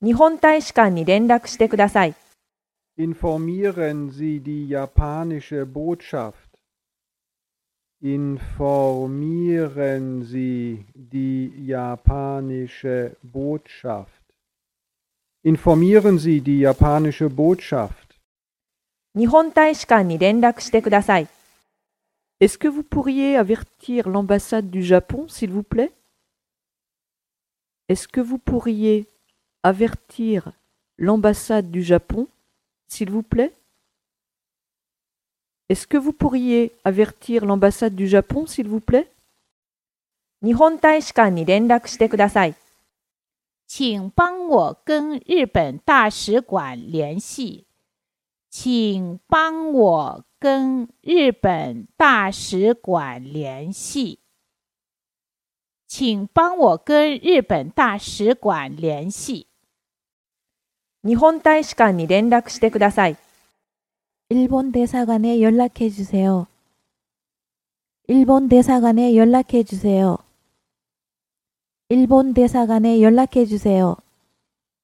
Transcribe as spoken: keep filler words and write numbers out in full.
日本大使館に連絡してください。 Informieren Sie die japanische Botschaft. Informieren Sie die japanische Botschaft. Informieren Sie die japanische Botschaft. 日本大使館に連絡してください。 Est-ce que vous pourriez avertir l'ambassade du Japon, s'il vous plaît? Est-ce que vous pourriez avertir l'ambassade du Japon, s'il vous plaît? Est-ce que vous pourriez avertir l'ambassade du Japon, s'il vous plaît? 日本大使館に連絡してください。 请帮我跟日本大使馆联系。请帮我跟日本大使馆联系。请帮我跟日本大使館联系。 日本大使館に連絡してください。 일본 대사관에 연락해 주세요. 일본 대사관에 연락해 주세요. 일본 대사관에 연락해 주세요.